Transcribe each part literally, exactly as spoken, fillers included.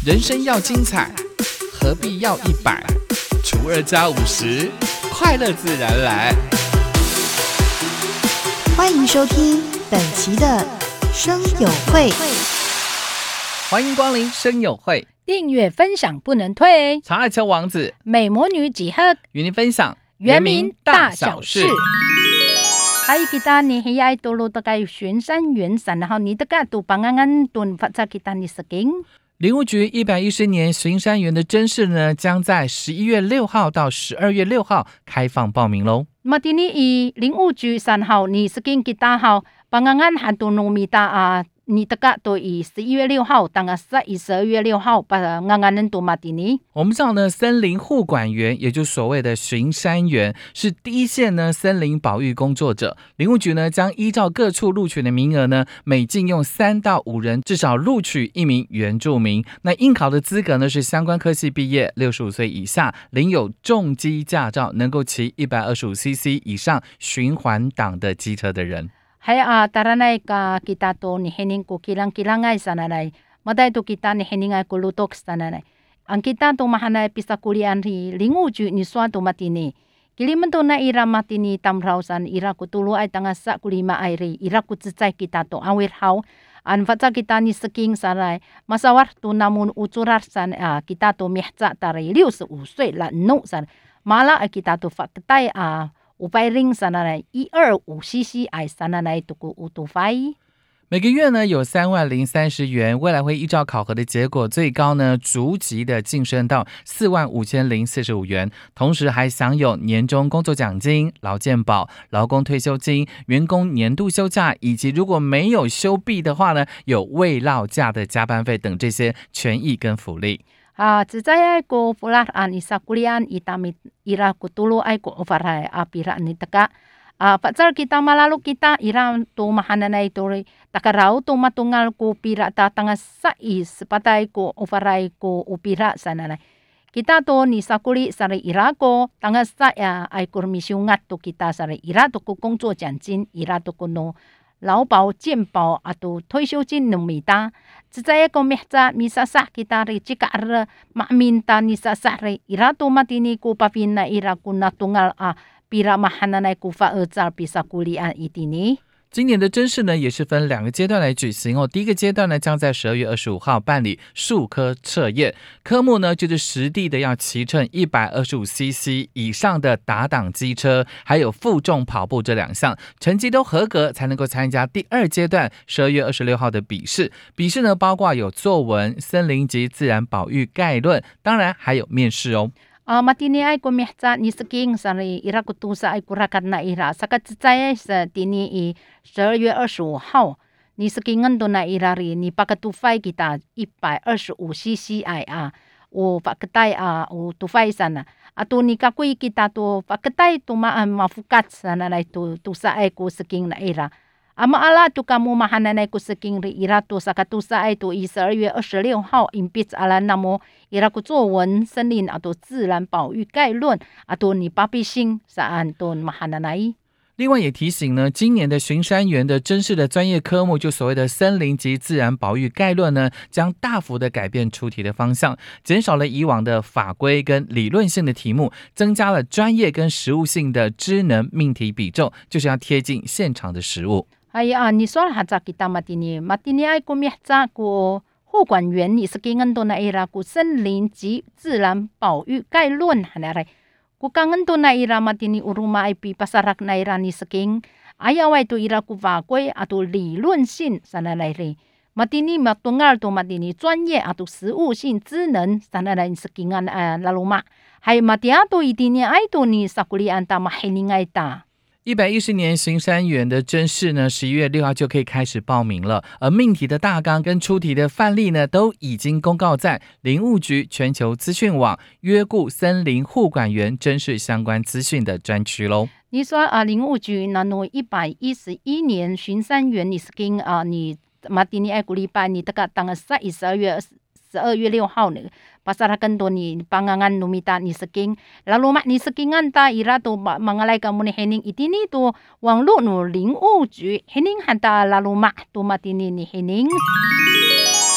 人生要精彩，何必要一百除二加五十，快乐自然来。 欢迎收听本期的声友会， 欢迎光临声友会， 订阅分享不能退。 长爱丘王子美魔女几何与您分享原名大小事。Hai kita ni hiyay tulo tagay 巡山员散，然后你的个都帮安安顿发在 kita ni seging。 林务局一百一十年巡山员的甄试呢，将在十一月六号到十二月六号开放报名喽。 Matini i 林务局三号你 seging kita 号帮安安喊都农米达啊。你的个都以十一月六号，当个十一十二月六号，把安安人都马蒂尼。 我们知道呢，森林护管员，也就是所谓的巡山员，是第一线呢森林保育工作者。林务局呢将依照各处录取的名额呢，每进用三到五人，至少录取一名原住民。那应考的资格呢是相关科系毕业，六十五岁以下，领有重机驾照，能够骑一百二十五 C C 以上循环档的机车的人。 Hay ah taranay ka kita to ni hening ko kilang-kilangay sananay. Maday to kita ni hening ay kulutok sananay. Ang kita to mahanay pisakulian ri linguju ni suatu matini. Kiliman to na ira matini tamrausan ira kutulu ay tangasa kulima ay ri ira kutsitsay kita to awir haw. An fatsa kita ni seking saray. Masawar to namun ucurar san ah, kita to mihca taray liu sa usay la no san. Mala ay kita to fakatay ah.五百零三来一二五 C C 哎，三来度过五度发。 每个月呢有三万零三十元，未来会依照考核的结果，最高呢逐级的晋升到四万五千零四十五元，同时还享有年终工作奖金、劳健保、劳工退休金、员工年度休假，以及如果没有休毕的话呢，有未落假的加班费等这些权益跟福利。 Ah, cicaya ko pular an isa kulian itamit ira kutulo ay ko ofaray apira ni taka. Ah, patsar kita malalu kita ira to mahananay to takaraw to matungal ko pira tatanga sa is patay ko ofaray ko upira sananay. Kita to ni sakuli sari ira ko tanga sa ya ay kurmisyungat to kita sari ira to ko kongzo janjin ira to ko no.劳保、健保啊，都退休金能米哒。只在一个咩子米萨萨kita ri jika ar maminta ni sasa ri ira to matini ko papina ira ko natungal ah pira mahananay ko fa erzal bisa kuliah itini。 今年的甄试呢，也是分两个阶段来举行哦。第一个阶段呢，将在十二月二十五号办理术科测验，科目呢就是实地的要骑乘一百二十五 C C 以上的打档机车，还有负重跑步这两项，成绩都合格才能够参加第二阶段十二月二十六号的笔试。笔试呢，包括有作文、森林及自然保育概论，当然还有面试哦。 Ah, matini ay kumihca ni seking sari ira kutusa ay kurakat na ira. Sakat cicaya sa tini i 十二月二十五号ni sekingan do na ira ri ni pakatufay kita 一百二十五 C C ay ah. O pakatay ah o tufay sana. Ato ni kakuy kita to pakatay to ma mafukat sana na to tusa ay ko seking na ira.Ama ala tu kamu mahananay ko seking ri ira to sa katusa ay to 十二月二十六号 impits ala namo ira ko 作文森林啊to 自然保育概论啊to你巴比星saan to mahananay。 另外也提醒呢，今年的巡山员的甄试的专业科目，就所谓的森林及自然保育概论呢，将大幅的改变出题的方向，减少了以往的法规跟理论性的题目，增加了专业跟实务性的知能命题比重，就是要贴近现场的实务。 Ay ah, ni soal haja kita matini. Matini ay kumihca ko 护管员你是给恩多那伊拉古森林及自然保育概论哈那来。Ku kangen to na ira matini uruma ay pi pasarak na ira ni seking ayaw ay to ira ku vakwe ato 理论性 sana来re matini matungal to matini 专业 ato 实务性知能 sana来 sekingan uh, lalu mak hay matiato itini ay to ni sakuli anta mahining ay ta。 一百一十年巡山员的甄试呢，十一月六号就可以开始报名了。而命题的大纲跟出题的范例呢，都已经公告在林务局全球资讯网约顾森林护管员甄试相关资讯的专区喽。 你说啊，林务局那诺一百一十一年巡山员，你是跟啊你马蒂尼埃古礼拜你这个当个十一十二月十二月六号呢？pasarakan to ni pangangan numita ni seking lalu mak ni sekingan ta ira to mangalai kamu ni hening itini to wang lu no ling u ju hening hanta lalu mak to matini ni hening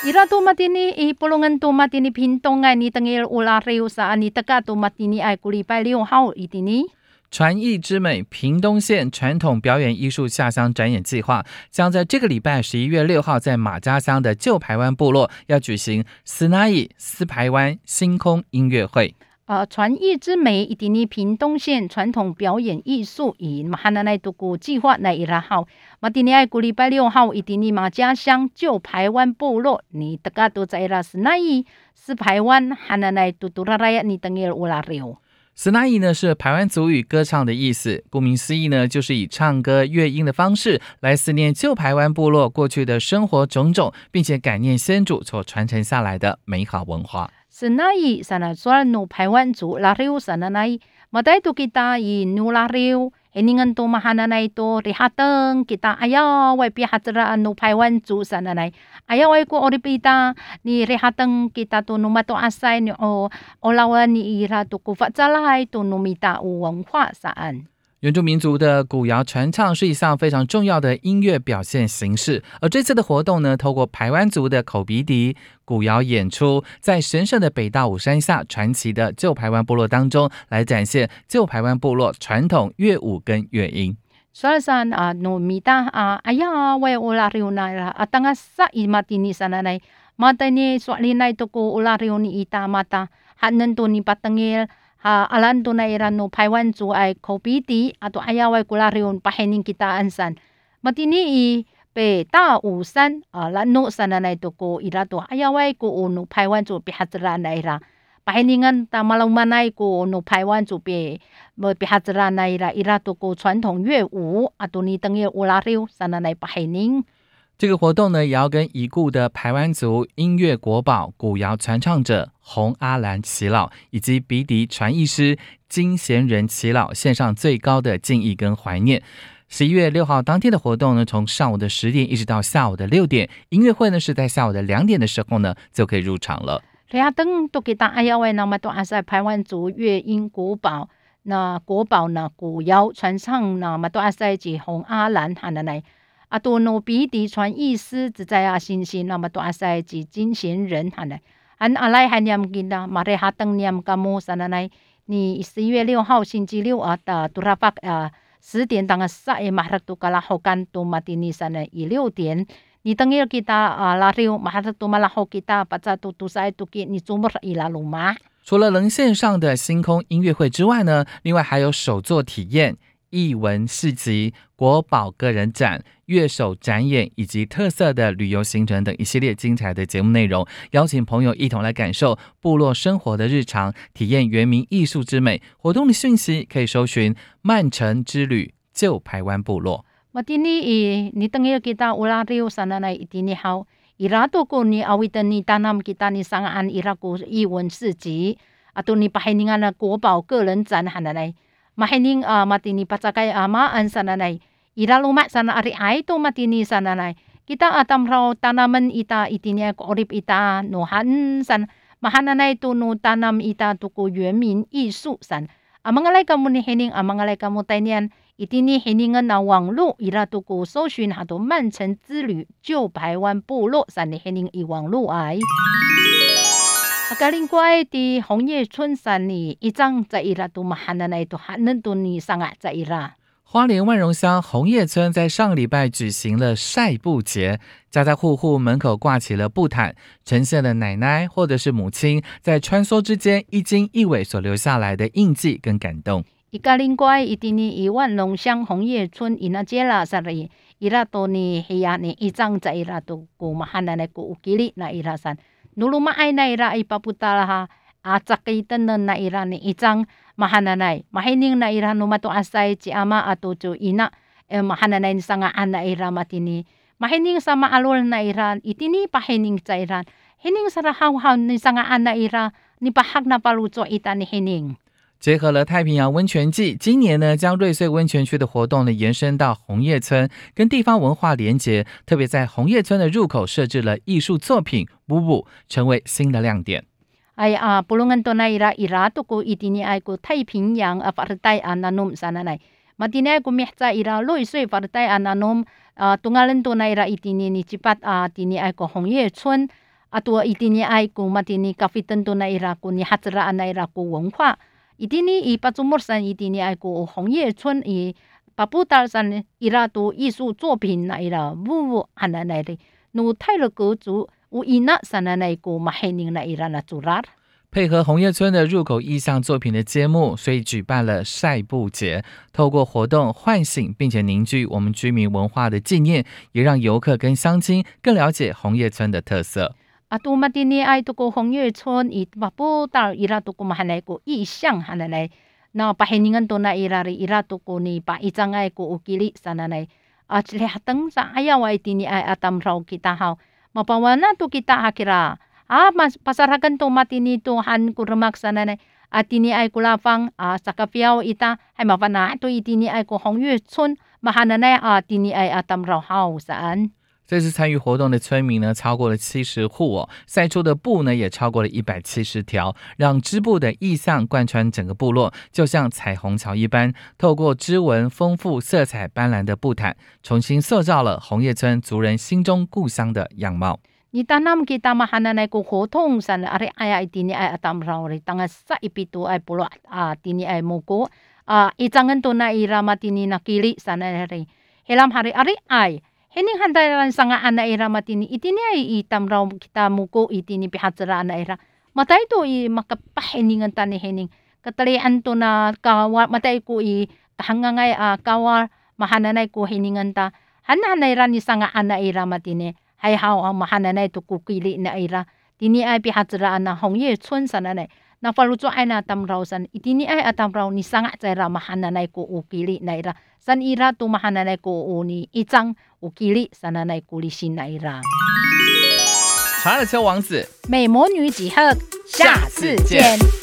Ira tu matini i pulungan tu matini pintong ay ni tengil ulariw sa ni taga tu matini ay kulipay liw hao itini。 传艺之美屏东县传统表演艺术下乡展演计划将在这个礼拜十一月六号在马家乡的旧排湾部落要举行斯那伊斯排湾星空音乐会。 呃，传艺之美以及你屏东县传统表演艺术以马哈那奈度古计划那伊拉号，马蒂尼爱古礼拜六号以及你马家乡旧排湾部落，你大家都在拉斯那伊斯排湾哈那奈度杜拉拉亚你等于乌拉流。 斯那伊呢是排湾族语歌唱的意思，顾名思义呢，就是以唱歌乐音的方式来思念旧排湾部落过去的生活种种，并且感念先祖所传承下来的美好文化。 斯那伊sana soal no排湾族拉流sana nai matai tu kita i nu larew heningan tu mahana nai tu rihateng kita ayaw wai pihatera no 排湾族 sana nai ayaw wai ko oripita ni rihateng kita tu no mato asay ni o olawan ni ira tu ku fatsalai tu no mita u 文化 saan。 原住民族的古谣传唱是一项非常重要的音乐表现形式，而这次的活动呢，透过排湾族的口鼻笛、古谣演出，在神圣的北大武山下传奇的旧排湾部落当中，来展现旧排湾部落传统乐舞跟乐音。 Soalsan ah no mita ah aya wai ulariw na atanga sa imatini sana nai mata ni swalina ito ko ulariw ni ita mata hanan to ni patangil ha alan to na ira no 排湾族 ay kopiti ato ayaway kulariyon pahening kita ansan matini i pe ta usan lano sana na ito ko ira to ayaway ko no 排湾族 pihatra na ira paheningan ta malaumanay ko no 排湾族 pe pihatra na ira ira to ko 传统乐舞 ato ni tangil ulariw sana na pahening。 这个活动呢，也要跟已故的排湾族音乐国宝、古谣传唱者洪阿兰耆老以及鼻笛传艺师金贤仁耆老献上最高的敬意跟怀念。十一月六号当天的活动呢，从上午的十点一直到下午的六点，音乐会呢是在下午的两点的时候呢就可以入场了。 等都给大哎呀喂，那么多阿塞排湾族乐音国宝，那国宝呢古谣传唱那么多阿塞及洪阿兰喊的来。啊，多诺比迪传艺师只在啊新新，那么多阿塞及金贤人哈呢，安阿来还念紧的，马来哈登念噶么啥呢？你十一月六号星期六啊，的杜拉巴啊十点当个萨诶马哈杜卡拉后干杜马蒂尼啥呢？以六点，你等于 kita 啊拉六马哈杜马拉后 kita 把这杜杜塞杜给你做么伊拉鲁马？ 除了能线上的星空音乐会之外呢，另外还有手作体验。艺文市集、国宝个人展、乐手展演以及特色的旅游行程等一系列精彩的节目内容，邀请朋友一同来感受部落生活的日常，体验原民艺术之美。活动的讯息可以搜寻曼城之旅旧排湾部落。 Matini i ni tengil kita ulariw sana na itini hao irato ko ni awitan ni tanam kita ni sangaan iraku iwan市集 ato ni pahiningan na 国宝个人展hananay mahining uh, matini patsakay amaan sana nay iralumat sana ari ay to matini sana nay kita atam raw tanaman ita itini ko orip ita no han san mahananay to no tanam ita to ko 原民艺术 san amangalay kamo ni hining amangalay kamo tainian itini hiningan na 网络 ira to ko 搜寻 hato 曼城之旅旧排湾部落 san ni hining i 网络 ay Akalingkway ti 红叶村 san ni ijang za ira to mahananay to hanan to ni sanga za ira。 花莲万荣乡红叶村在上个礼拜举行了晒布节，家家户户门口挂起了布毯，呈现了奶奶或者是母亲在穿梭之间一经一尾所留下来的印记跟感动。 Ikalingkway itini i 万荣乡红叶村 inajela sari ira to ni hiya ni ijang za ira to ko mahananay ko ukili na ira san nulumaay na ira ay paputalaha at sakitan na ira ni ijang mahananay mahining na ira numato asay ci ama ato ci ina eh, mahananay ni sangaan na ira matini mahining sa maalol na ira itini pahining sa ira hining sa rahaw ni sangaan na ira ni pahag na paluto ita ni hining。 结合了太平洋温泉季，今年呢将瑞穗温泉区的活动呢延伸到红叶村，跟地方文化连结，特别在红叶村的入口设置了艺术作品舞舞，成为新的亮点。 ay uh, pulungan to na ira ira to ko itini ay ko 太平洋 uh, partay ananom sana nay matinay ko mihsa ira loisoi partay ananom uh, tungalan to na ira itini ni cipat uh, tini ay ko 红叶村 Atua itini ay ku matini kafitan to na ira ku ni hatsaraan na ira ku wenhua. Itini i patsumursan itini ay ku Hongye Chun i paputal san ira tu 艺术作品na ira vuvu ana na ri nu tailo ko zu u ina sana na ku mahening na ira na zurar。 配合红叶村的入口意象作品的揭幕，所以举办了晒布节，透过活动唤醒并且凝聚我们居民文化的纪念，也让游客跟乡亲更了解红叶村的特色。 啊，都嘛的呢，爱都个红叶村，伊把不到伊拉都个嘛还来个意象还来来，那把黑人都那伊拉的伊拉都个呢，把一张爱个乌吉里sana来，啊，这里哈等啥？哎呀，我的呢爱阿tam rau kita hau，嘛把我那都 kita hakira。Ah, mas pasarakan to matini to han kurmak sana na atini ay kulafang ah, sa kapiao ita ay mapana to itini ay ko Hongye Chun mahana na atini ay atam rau hao saan。 这次参与活动的村民呢，超过了七十户哦，晒出的布呢也超过了一百七十条，让织布的意象贯穿整个部落，就像彩虹桥一般，透过织纹丰富、色彩斑斓的布毯，重新塑造了红叶村族人心中故乡的样貌。 Ni tanam kita mahana na ko hotong san are ay itini ay atam raw ri tanga sa ipito ay pulo ah tini ay moko ah itangan to na ira matini nakili sana ri helam hari ari ay hening handaran sanga ana ira matini itini ay itam raw kita moko itini pihatsara ana ira matay to i makapaheningan tani hening katalian to na kawa matay ko i kahangangay ah kawa mahana na ko heningan ta hanana ira ni sanga ana ira matini hay hao ang mahana na ito kukili na ira. Tini ay pihatsaraan na Hongye Chun sana na. Nafaluto ay na tamraw san. Itini ay atamraw ni sanga sa ira mahana na ko ukili na ira. San ira to mahana na ko uni itang ukili sana na kulisin na ira. 查尔丘王子， 美魔女几何，下次见。